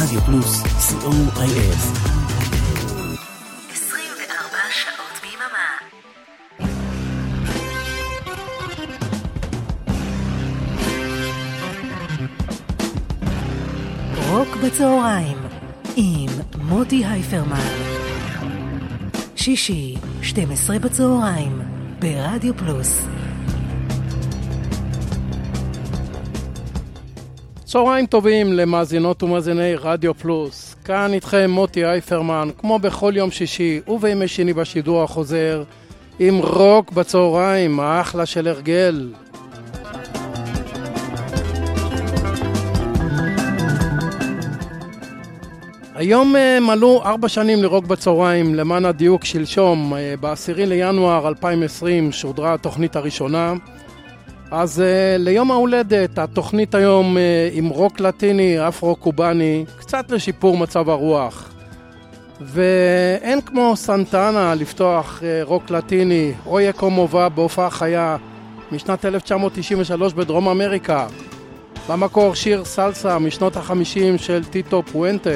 רדיו פלוס, co.il. 24 שעות ביממה. רוק בצהריים עם מוטי הייפרמן. שישי, 12 בצהריים, ברדיו פלוס. צהריים טובים למאזינות ומאזיני רדיו פלוס. כאן איתכם מוטי הייפרמן, כמו בכל יום שישי ובימי שני בשידור החוזר, עם רוק בצהריים, האחלה של הרגל. היום מלאו 4 שנים לרוק בצהריים, למען הדיוק שלשום, ב10 לינואר 2020 שודרה התוכנית הראשונה. אז ליום ההולדת, התוכנית היום עם רוק לטיני, אפרו-קובני, קצת לשיפור מצב הרוח. ואין כמו סנטנה לפתוח רוק לטיני, אויה קומובה בהופעה חיה משנת 1993 בדרום אמריקה. במקור שיר סלסה משנות ה-50 של טיטו פואנטה.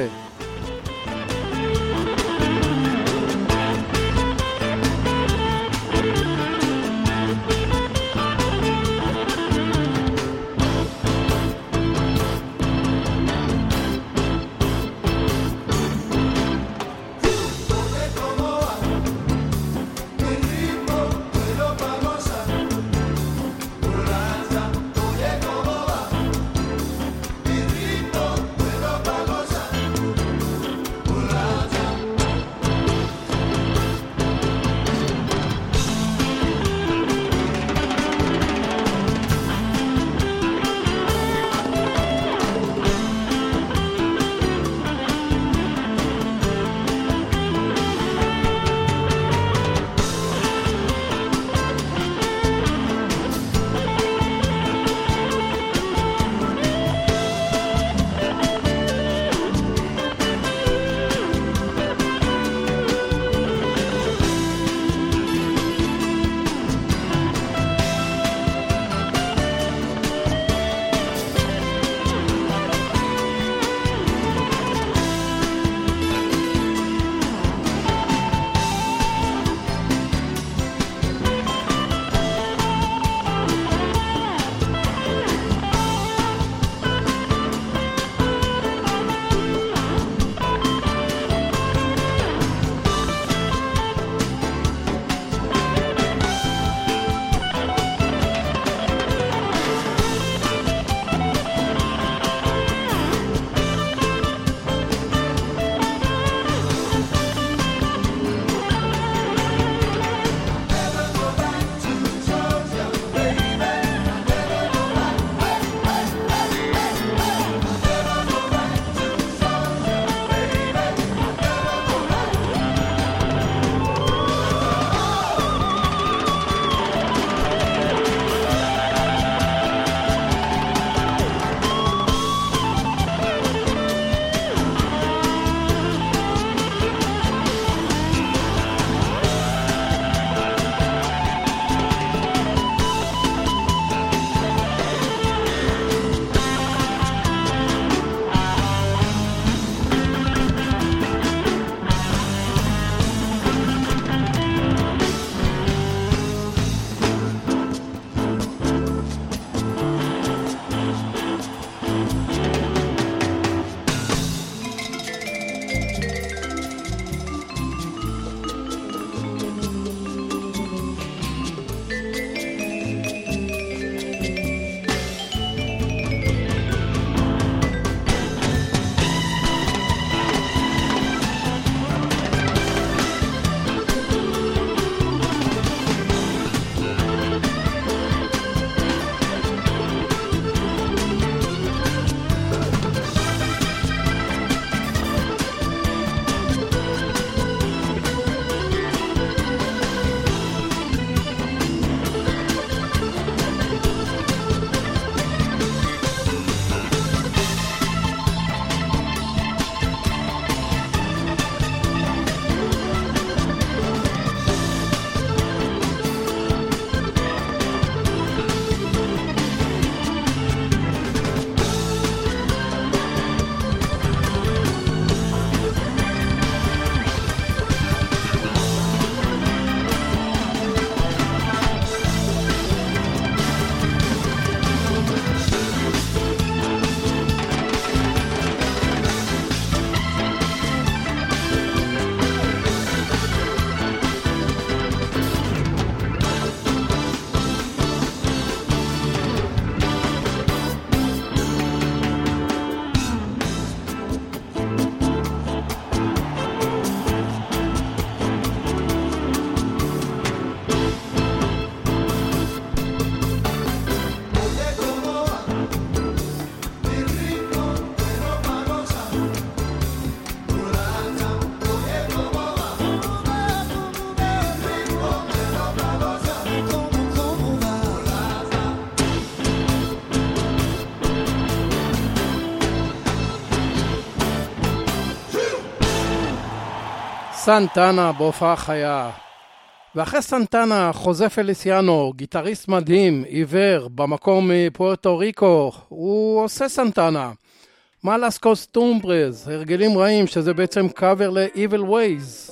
סנטנה בהופעה חיה. ואחרי סנטנה, חוזה פליסיאנו, גיטריסט מדהים, עיוור, במקום מפוארטו ריקו, הוא עושה סנטנה. מלאס קוסטומברז, הרגלים רעים, שזה בעצם קאבר ל-Evil Ways.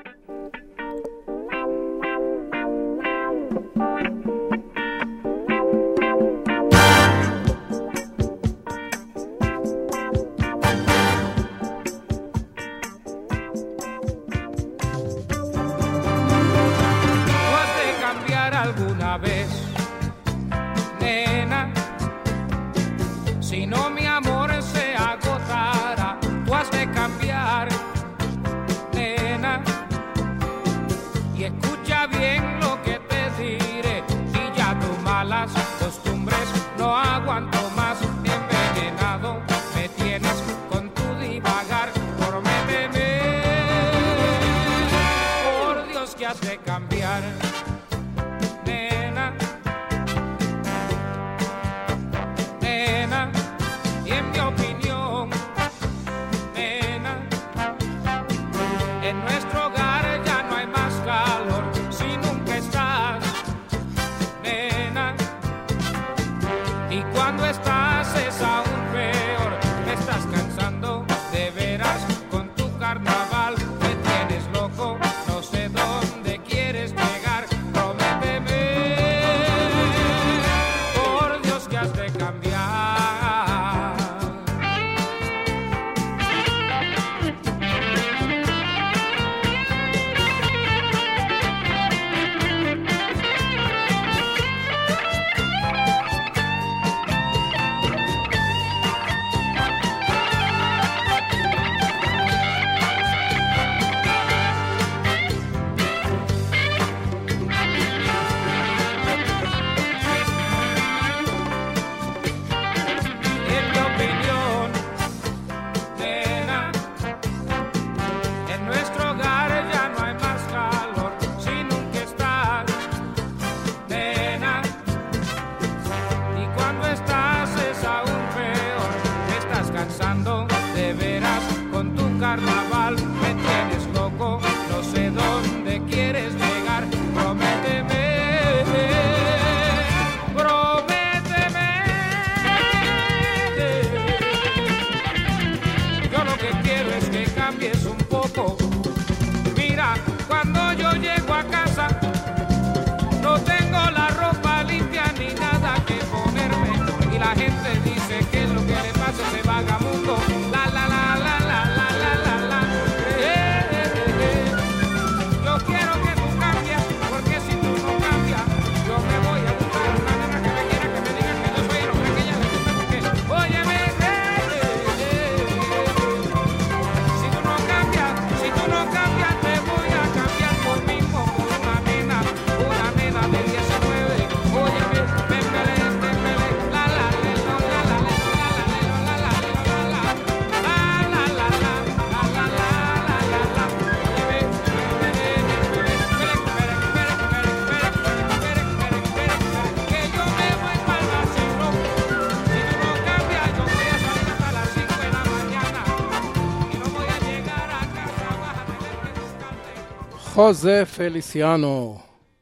חוזה פליסיאנו.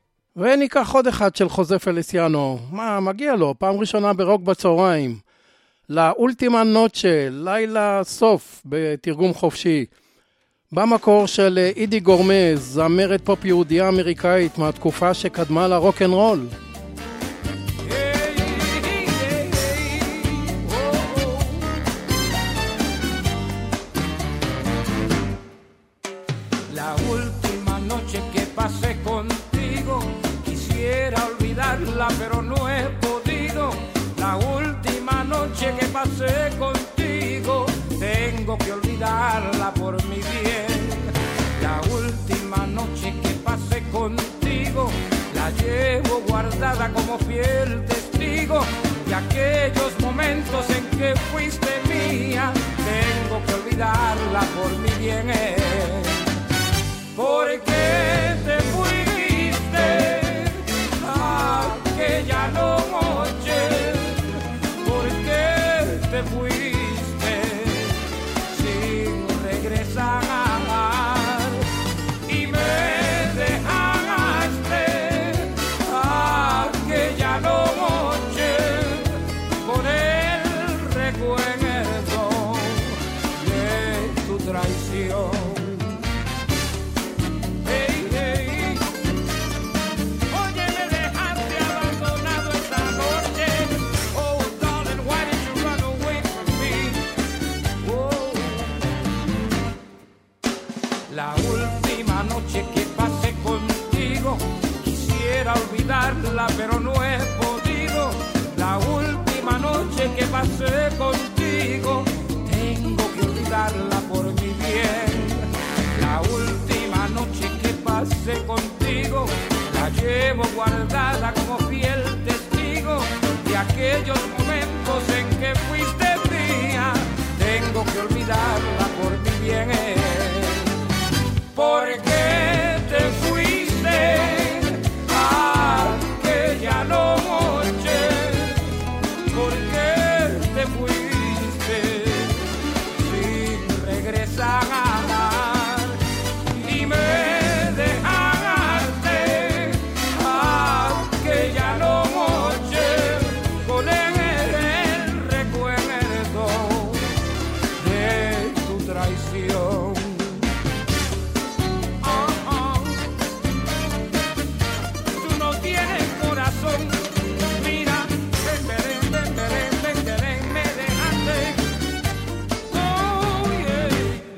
וניקח עוד אחד של חוזה פליסיאנו. מה, מגיע לו, פעם ראשונה ברוק בצהריים. לאולטימה נוצ'ה, לילה סוף בתרגום חופשי. במקור של אידי גורמז, זמרת פופ יהודיה אמריקאית מהתקופה שקדמה לרוק אנד רול. Pero no he podido. La última noche que pasé contigo, tengo que olvidarla por mi bien. La última noche que pasé contigo, la llevo guardada como fiel testigo de aquellos momentos en que fuiste mía. Tengo que olvidarla por mi bien. ¿Por qué te fuiste? Aquella noche, ¿por qué te fuiste sin regresar? aquellos momentos en que fuiste mía, tengo que olvidarla por mi bien. ¿Por qué te fuiste aquella noche? ¿Por qué te fuiste sin regresar? Y me dejaste aquella noche con el recuerdo de tu traición. Tú no tienes corazón. Mira, me dejaste. Oh, yeah.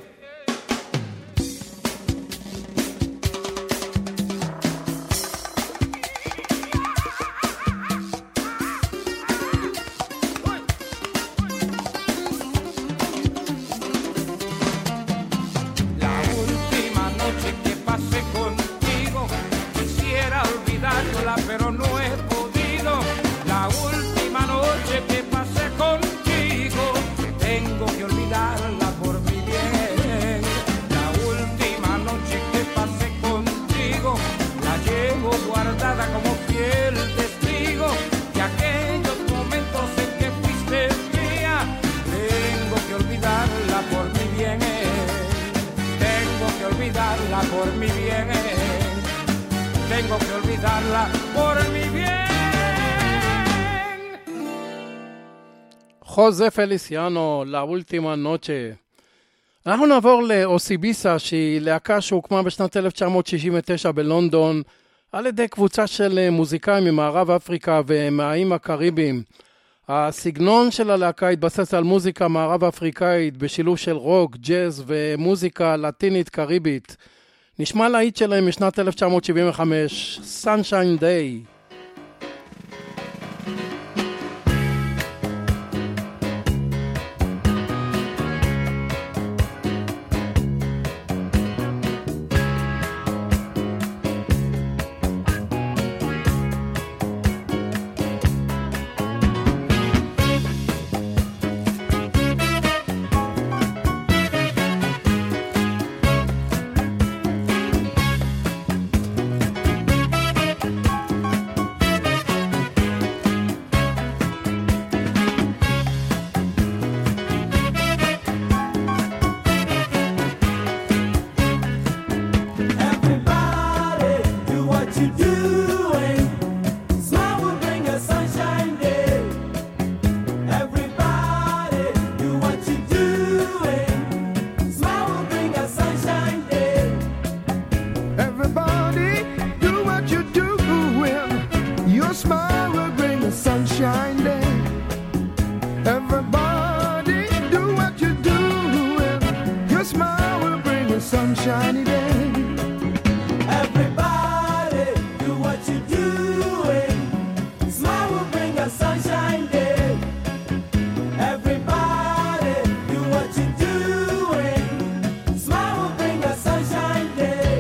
La última noche que pasé contigo, quisiera olvidarla, pero no he podido. La última noche que pasé contigo, tengo que olvidarla por mi bien. La última noche que pasé contigo, la llevo guardada como fiel testigo de aquellos momentos en que fuiste mía. Tengo que olvidarla por mi bien. Tengo que olvidarla por mi bien. Tengo que olvidarla por mi bien. חוזה פליסיאנו, לאולטימה נוצ'ה. אנחנו נעבור לאוסיביסה, שהיא להקה שהוקמה בשנת 1969 בלונדון, על ידי קבוצה של מוזיקאים ממערב אפריקה ומהאיים הקריביים. הסגנון של הלהקה התבסס על מוזיקה מערב אפריקאית, בשילוב של רוק, ג'אז ומוזיקה לטינית קריבית. נשמע להיט שלהם משנת 1975, Sunshine Day. Sunshiny day. Everybody do what you're doing. Smile will bring a sunshine day. Everybody do what you're doing. Smile will bring a sunshine day.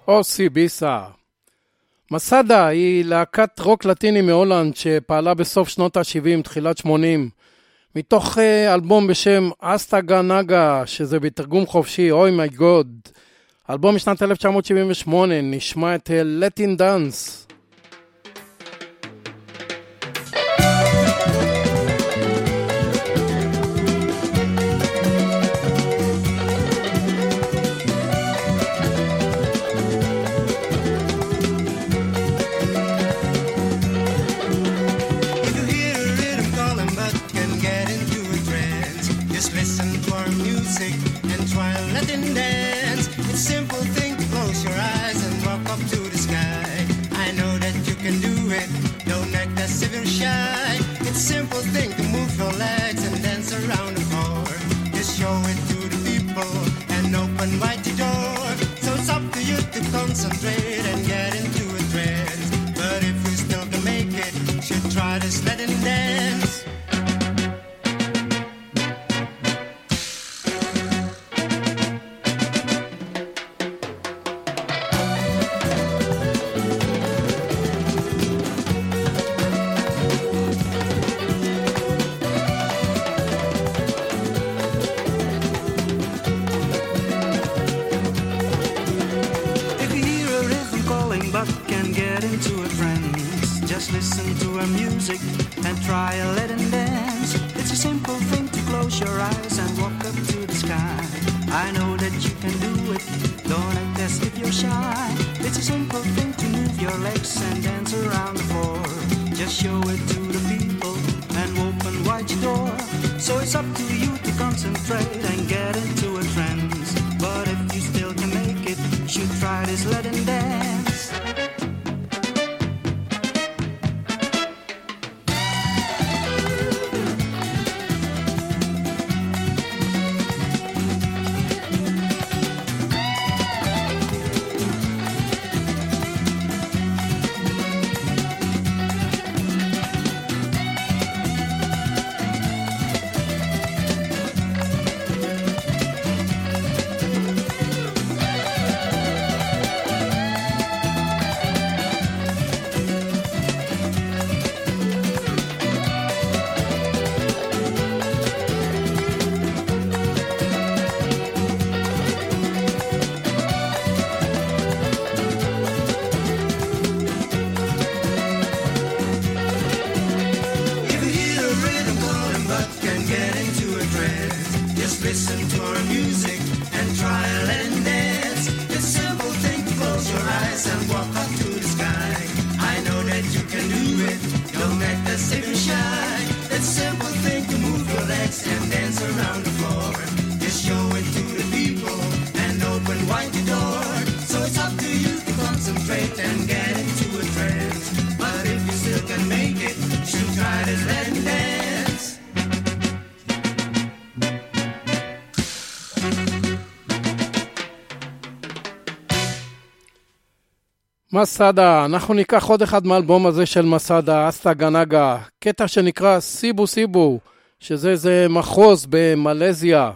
אוסי ביסה. מסדה היא להקת רוק לטיני מהולנד שפעלה בסוף שנות ה-70, תחילת 80, מתוך אלבום בשם אסטה גנגה, שזה בתרגום חופשי, אוי מי גוד. אלבום משנת 1978, נשמע את לטין דאנס. Concentrate and get into a trance. But if you still can make it, you should try this Latin dance. Listen to her music and try a Latin dance. It's a simple thing to close your eyes and walk up to the sky. I know that you can do it, don't act as if you're shy. It's a simple thing to move your legs and dance around the floor. Just show it to the people and open wide your door. So it's up to you to concentrate and get into a trance. But if you still can make it, you should try this Latin dance. מסדה, אנחנו ניקח עוד אחד מהאלבום הזה של מסדה, אסטה גנגה, קטע שנקרא סיבו סיבו, שזה מחוז במלזיה.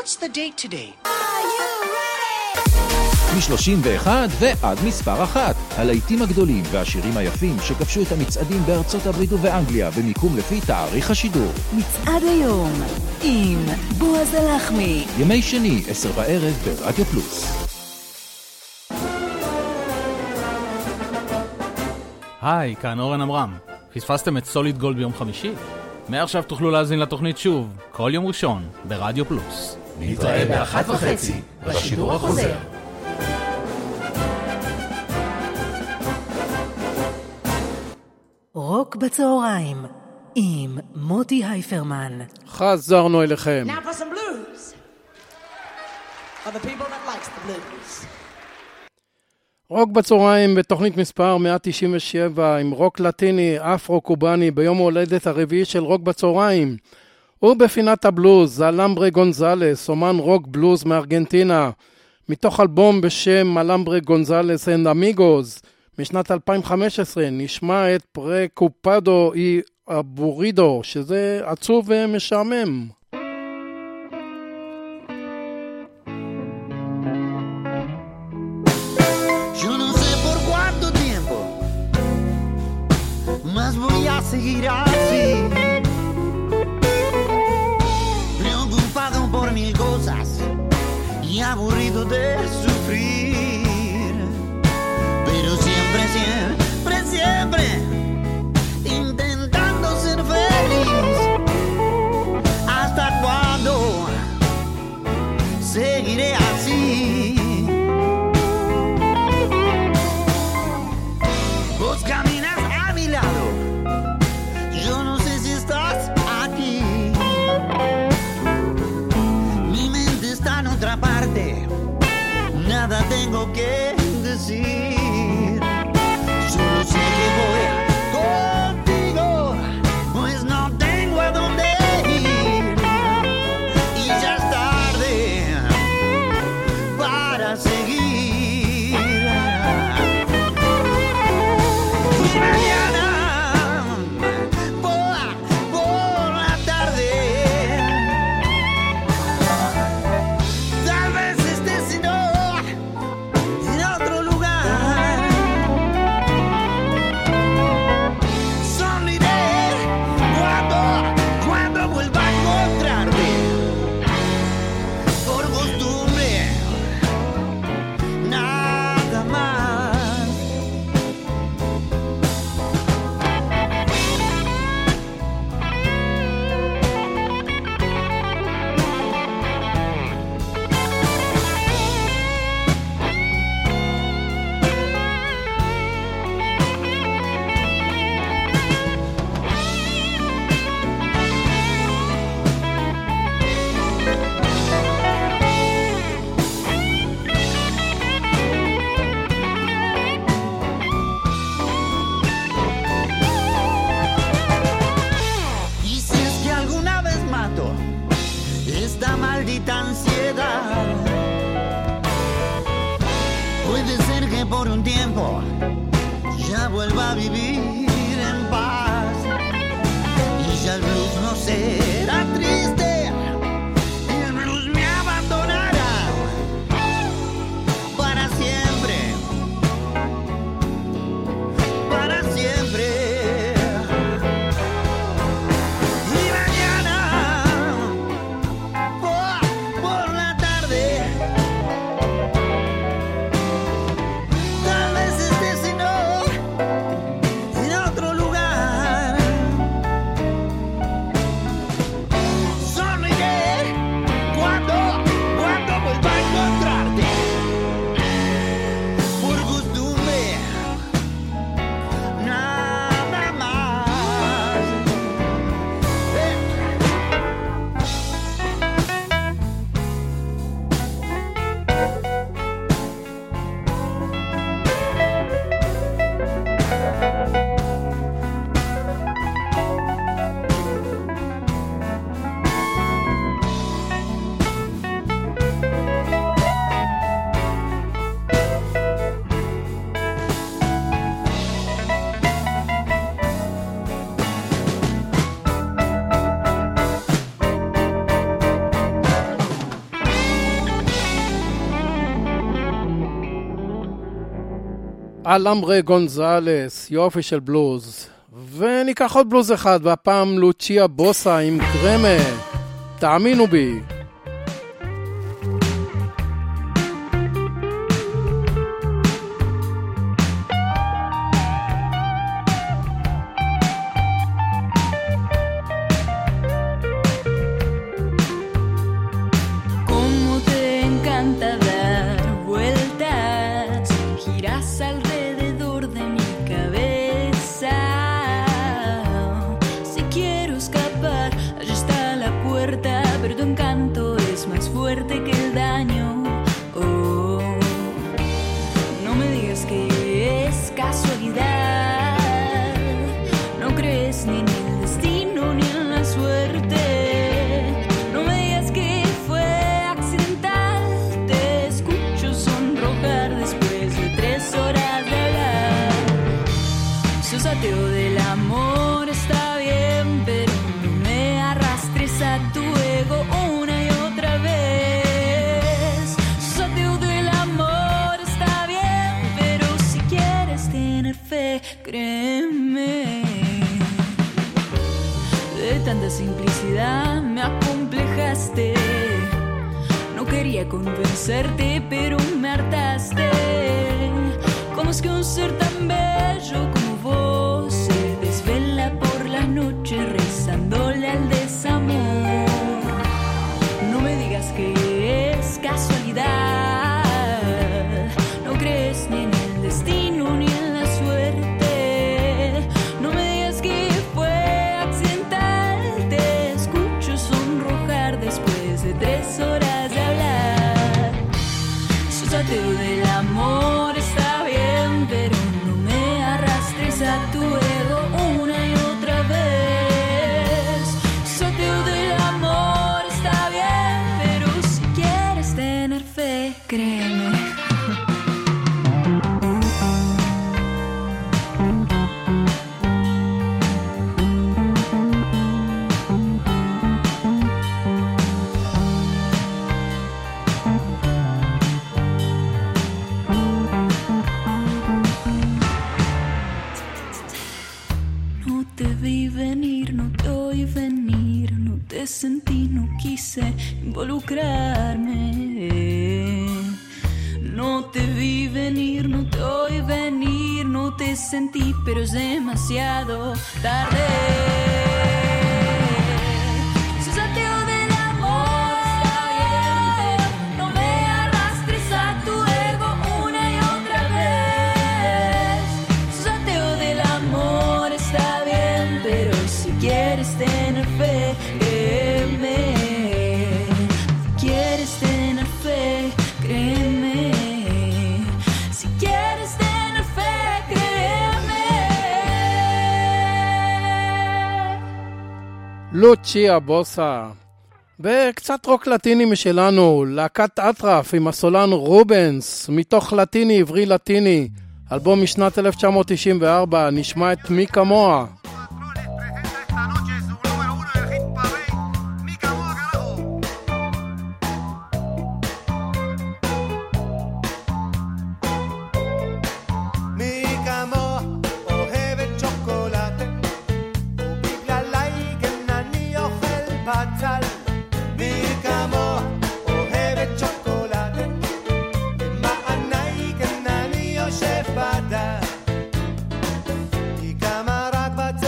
What's the date today? מ-31 ועד מספר 1. הלהיטים הגדולים והשירים היפים שכבשו את המצעדים בארצות הברית ובאנגליה במיקום לפי תאריך השידור. מצעד היום עם בועז הלחמי. ימי שני, 10 בערב ברדיו פלוס. היי, כאן אורן אמרם. פספסתם את סוליד גולד ביום חמישי? מעכשיו תוכלו להזין לתוכנית שוב, כל יום ראשון, ברדיו פלוס. נתראה ב-1:30 בשידור החוזר. רוק בצהריים עם מוטי הייפרמן. חזרנו אליכם. Now for some blues. For the people that likes the blues. רוק בצהריים בתוכנית מספר 197 עם רוק לטיני אפרו-קובני ביום ההולדת הרביעי של רוק בצהריים. ובפינת הבלוז אלמברה גונזלס, אומן רוק בלוז מארגנטינה, מתוך אלבום בשם אלמברה גונזלס אנד אמיגוז משנת 2015. נשמע את פרקופדו אי אבורידו, שזה עצוב ומשעמם. Seguir así, preocupado por mil cosas y aburrido de sufrir, pero siempre, siempre, siempre intentando ser feliz. ¿Hasta cuándo seguiré así? Vos caminas a mi lado, yo no sé si estás aquí. Mi mente está en otra parte, nada tengo que decir. Solo sé que voy contigo, pues no tengo a dónde ir. Y ya es tarde para seguir. Y mañana por un tiempo ya vuelva a vivir en paz y ya el blues no será triste y el blues me abandonará para siempre, para siempre. Y mañana por la tarde en אלמרה גונזלס, יופי של בלוז. וניקח עוד בלוז אחד, והפעם לוצ'יה בוסה עם קרמה, תאמינו בי. Convencerte, pero me hartaste. ¿Cómo es que un ser tan bello como vos se desvela por la noche rezándole al desamor? No me digas que es casualidad. No crees ni en el destino ni en la suerte. No me digas que fue accidental. Te escucho sonrojar después de 3 horas de hablar. Del amor está bien, pero no me arrastres a tu ego una y otra vez. Sorteo del amor está bien, pero si quieres tener fe, créeme. Sentí, no quise involucrarme. No te vi venir, no te oí venir, no te sentí, pero es demasiado tarde. Susateo del amor está bien, no me arrastres a tu ego una y otra vez. Susateo del amor está bien, pero si quieres tener fe, quieres tener fe, créeme. Si quieres tener fe, créeme. לוצ'יה בוסה. וקצת רוק לטיני משלנו, להקת אטרף עם הסולן רובנס, מתוך לטיני עברי לטיני, אלבום משנת 1994, נשמע את מי כמוה. But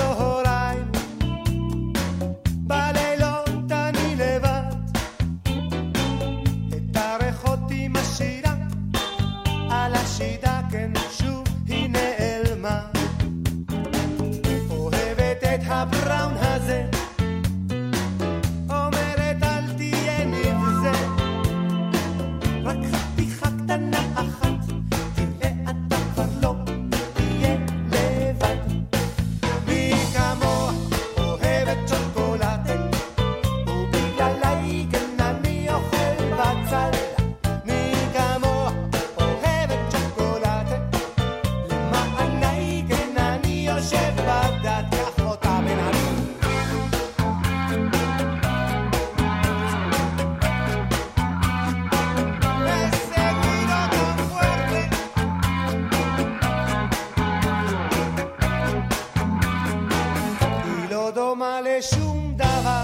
שום דבר.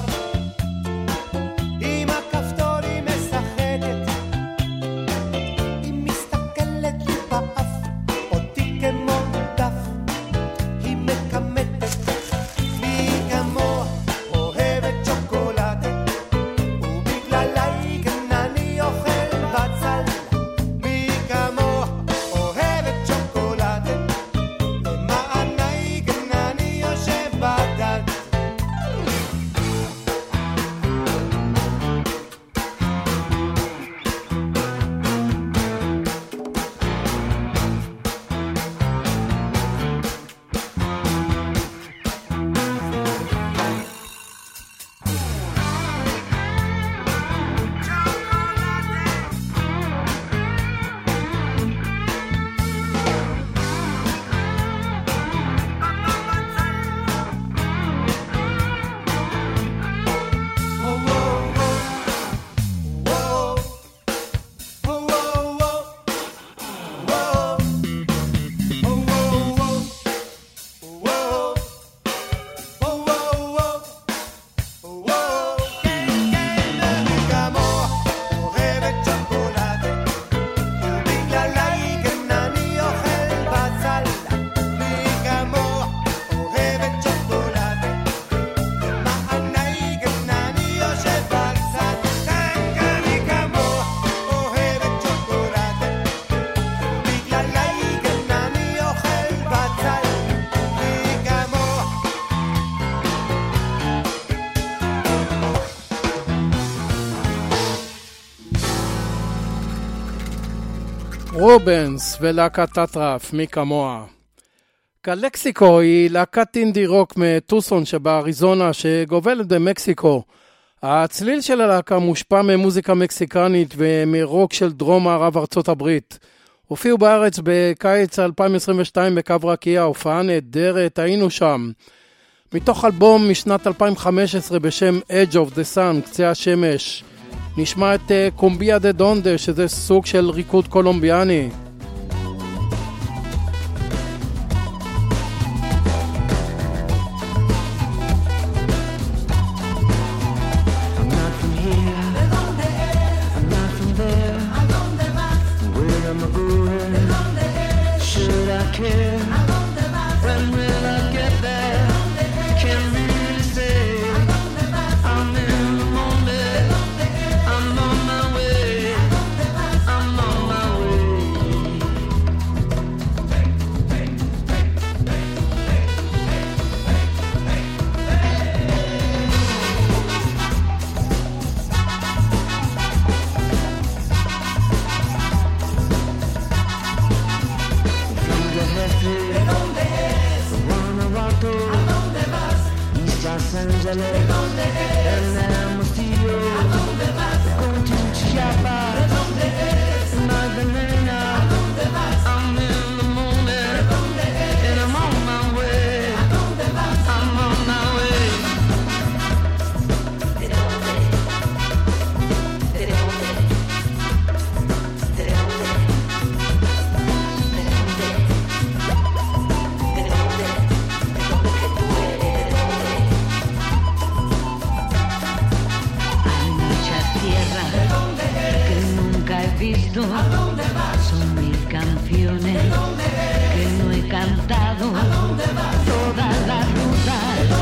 עם הכפתור היא משחקת, היא מסתכלת לי באף, אותי כמו דף, היא מקמטת. מי כמוה אוהבת שוקולדה, ובגללה כן אני אוכל בצל. מי כמוה אוהבת שוקולדה, למעני כן אני יושב בדד. רובנס ולהקת טטרף, מי כמוה. קלקסיקו היא להקת אינדי רוק מטוסון שבאריזונה שגובלת במקסיקו. הצליל של הלהקה מושפע ממוזיקה מקסיקנית ומרוק של דרום מערב ארצות הברית. הופיעו בארץ בקיץ 2022 בקו רקיע, הופעה נהדרת, היינו שם. מתוך אלבום משנת 2015 בשם Edge of the Sun, קצה השמש. נשמע את קומביה דה דונדה, שזה סוג של ריקוד קולומביאני. Son mis canciones que no he cantado. Toda la ruta,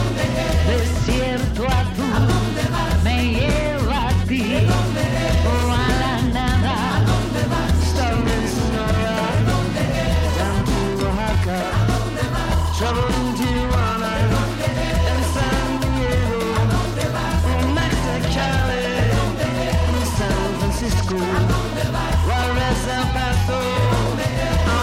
desierto azul, me lleva a ti o a la nada. Starry Sonora, down to Oaxaca, traveling to Tijuana and San Diego, or Mexicali, San Francisco. El Paso,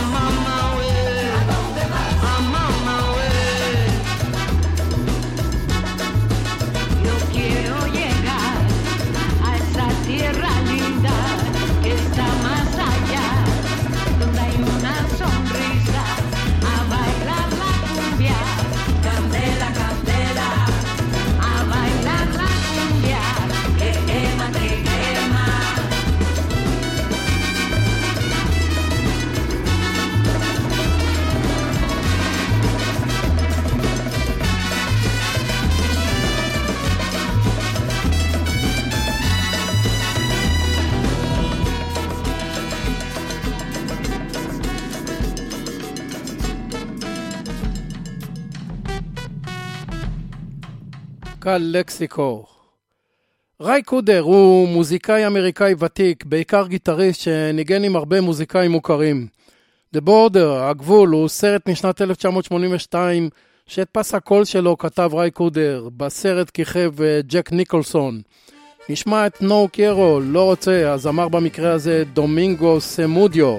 קלקסיקו. ריי קודר הוא מוזיקאי אמריקאי ותיק, בעיקר גיטריסט שניגן עם הרבה מוזיקאים מוכרים. The Border, הגבול, הוא סרט משנת 1982, שאת פס הקול שלו כתב ריי קודר, בסרט כיכב ג'ק ניקולסון. נשמע את נו קיירו, לא רוצה, אז אמר במקרה הזה דומינגו סמודיו.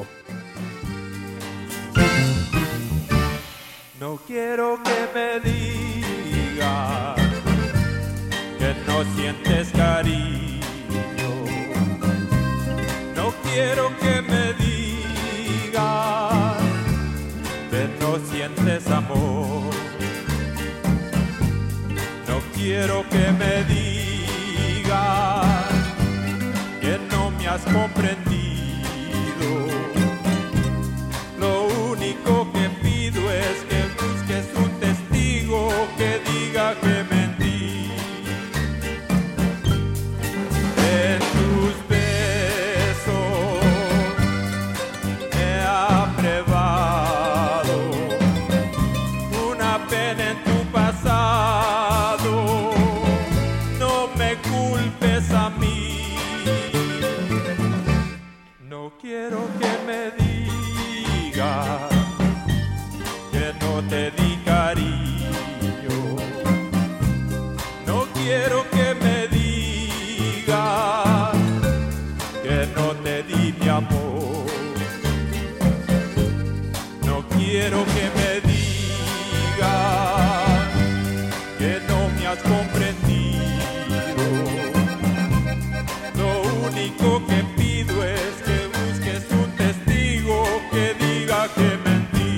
No quiero que me digas que no sientes cariño. No quiero que me digas que no sientes amor. No quiero que me digas que no me has comprendido. Lo único que pido es que busques un testigo que diga que mentí. En tus besos he aprobado una pena en tu pasado. No me culpes a mí. No quiero que me digas que no te di cariño. No quiero que me digas que no te di mi amor. No quiero que me digas que no me has comprendido. Lo único que pido es que busques un testigo que diga que mentí.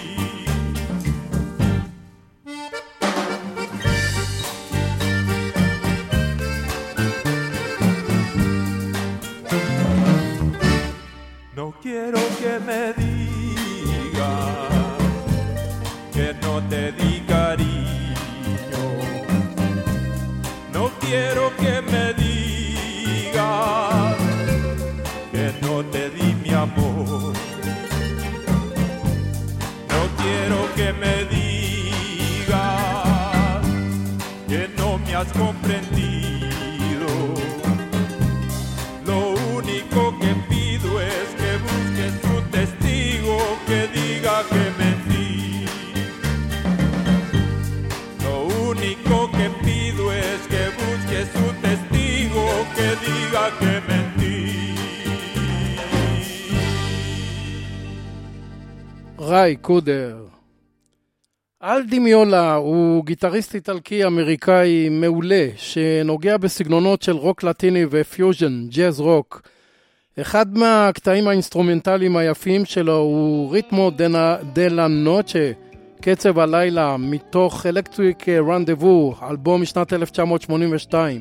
No quiero que me digas que no te di cariño. No quiero que me digas que no te di mi amor. No quiero que me digas que no me has comprendido. Lo único que pido es que busques un testigo que diga que mentí. Lo único que pido es que busques un testigo que diga que mentí. ריי קודר. אלדי מיולה הוא גיטריסט איטלקי אמריקאי מעולה שנוגע בסגנונות של רוק לטיני ופיוז'ן, ג'אז רוק. אחד מהקטעים האינסטרומנטליים היפים שלו הוא ריתמו דלה נוצ'ה, קצב הלילה, מתוך אלקטריק רנדבו, אלבום משנת 1982.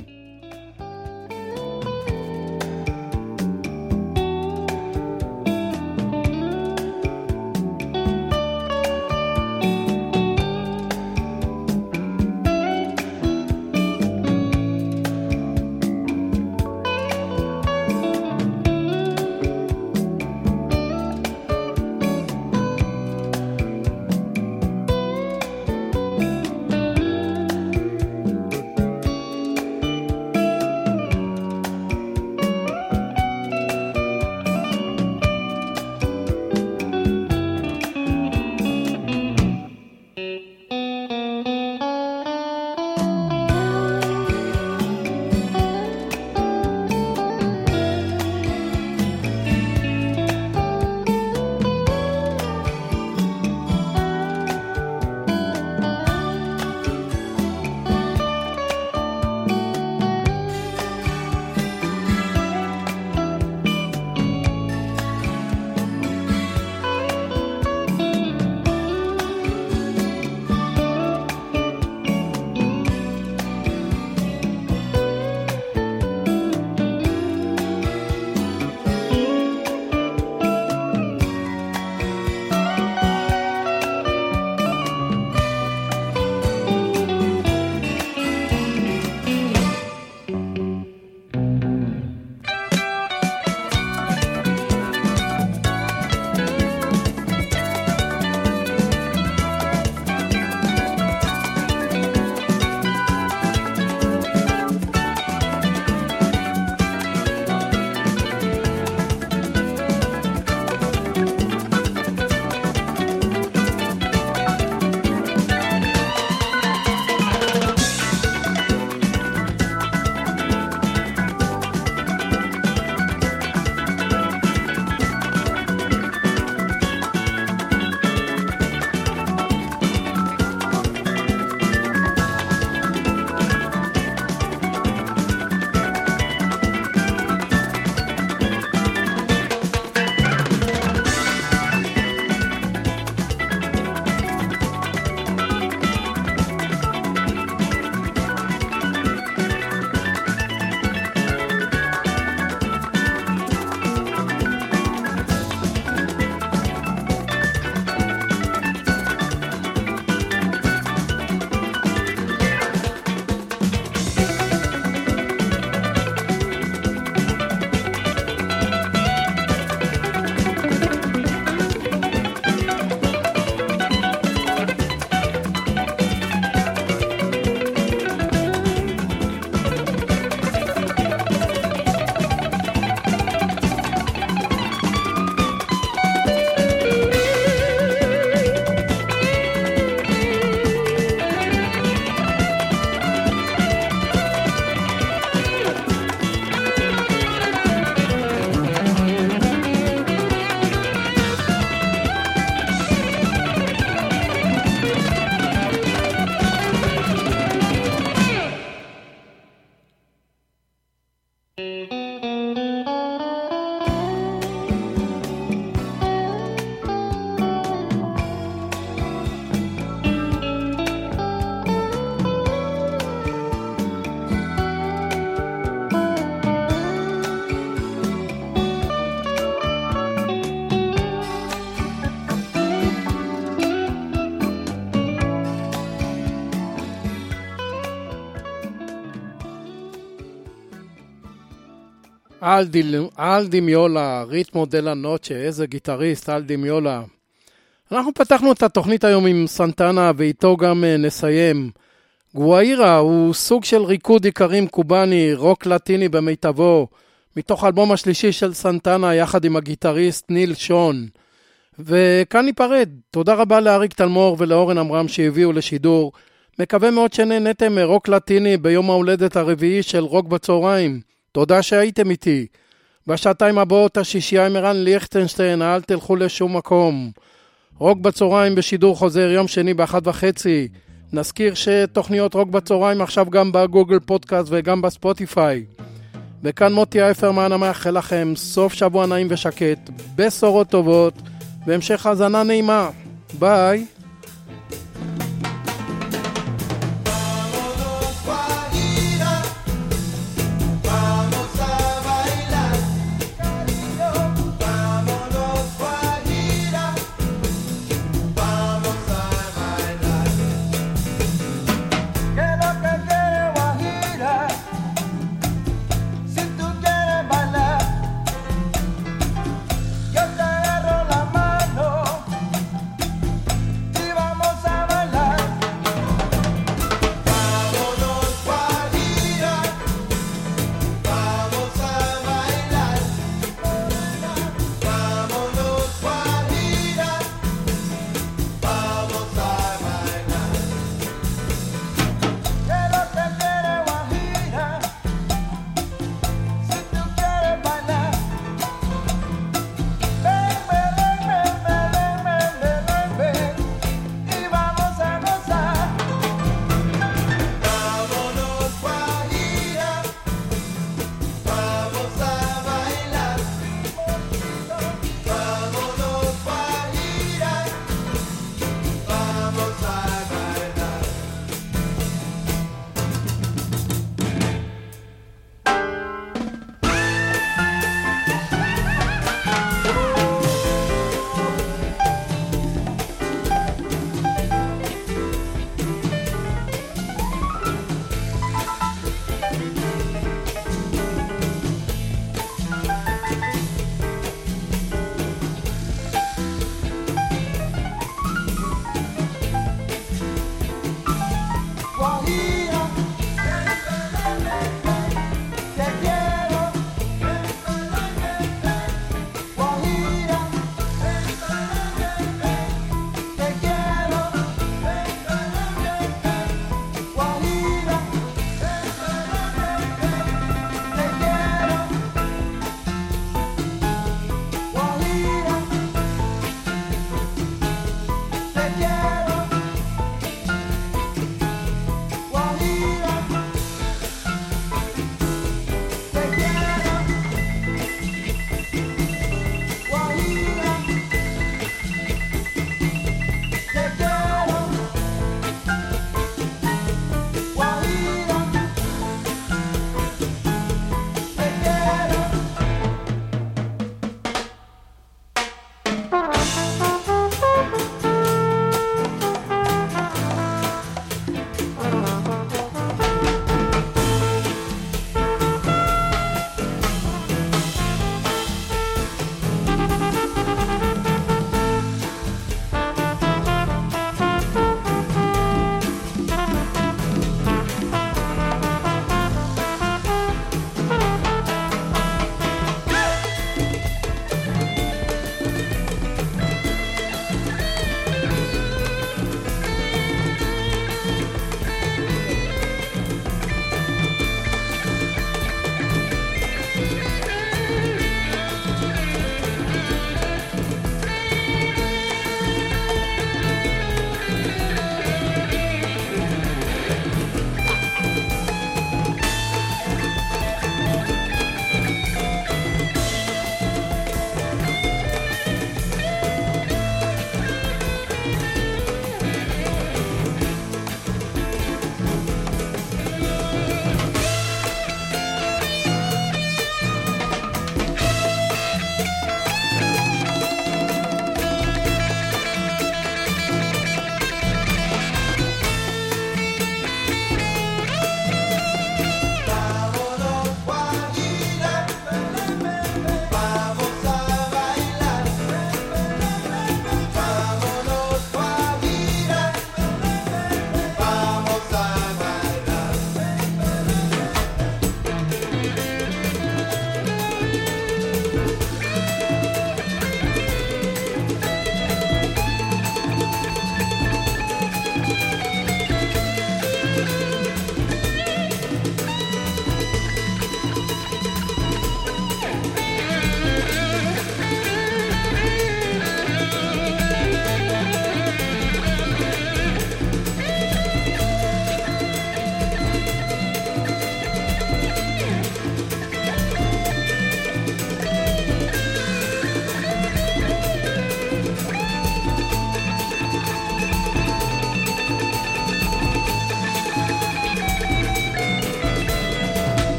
אלדי מיולה, ריתמו דלה נוצ'ה, איזה גיטריסט, אלדי מיולה. אנחנו פתחנו את התוכנית היום עם סנטנה, ואיתו גם נסיים. גואירה הוא סוג של ריקוד עיקרים קובני, רוק לטיני במיטבו, מתוך האלבום השלישי של סנטנה, יחד עם הגיטריסט ניל שון. וכאן ניפרד. תודה רבה לאריק תלמור ולאורן אמרם שהביאו לשידור. מקווה מאוד שנהנתם מרוק לטיני ביום ההולדת הרביעי של רוק בצהריים. תודה שהייתם איתי. בשעתיים הבאות השישייה עם ערן ליכטנשטיין, אל תלכו לשום מקום. רוק בצהריים בשידור חוזר יום שני ב13:30. נזכיר שתוכניות רוק בצהריים עכשיו גם בגוגל פודקאסט וגם בספוטיפיי. וכאן מוטי אייפרמן המאחל לכם סוף שבוע נעים ושקט, בשורות טובות והמשך האזנה נעימה. ביי.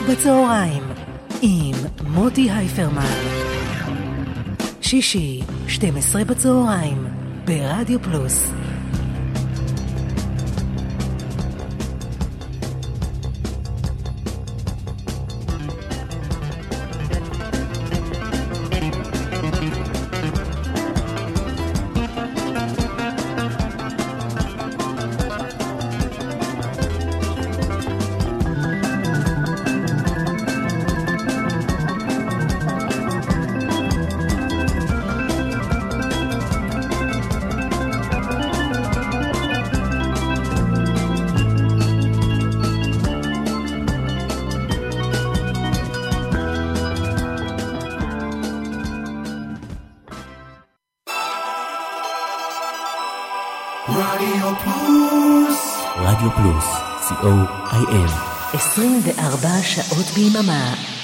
בצהריים עם מוטי הייפרמן. שישי, 12 בצהריים, ברדיו פלוס. רדיו פלוס, co.il 24 שעות ביממה.